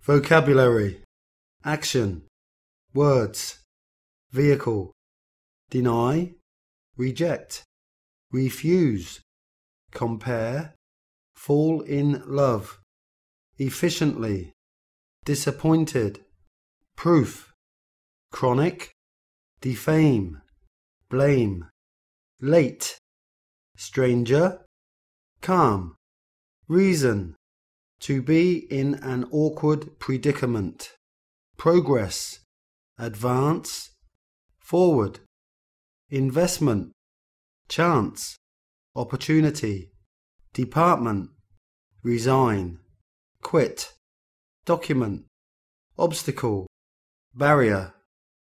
Vocabulary: action, words, vehicle, deny, reject, refuse, compare, fall in love, efficiently, disappointed, proof, chronic, defame, blame, late, stranger, calm, reason, to be in an awkward predicament, progress, advance, forward, investment, chance, opportunity, department, resign, quit, document, obstacle, barrier.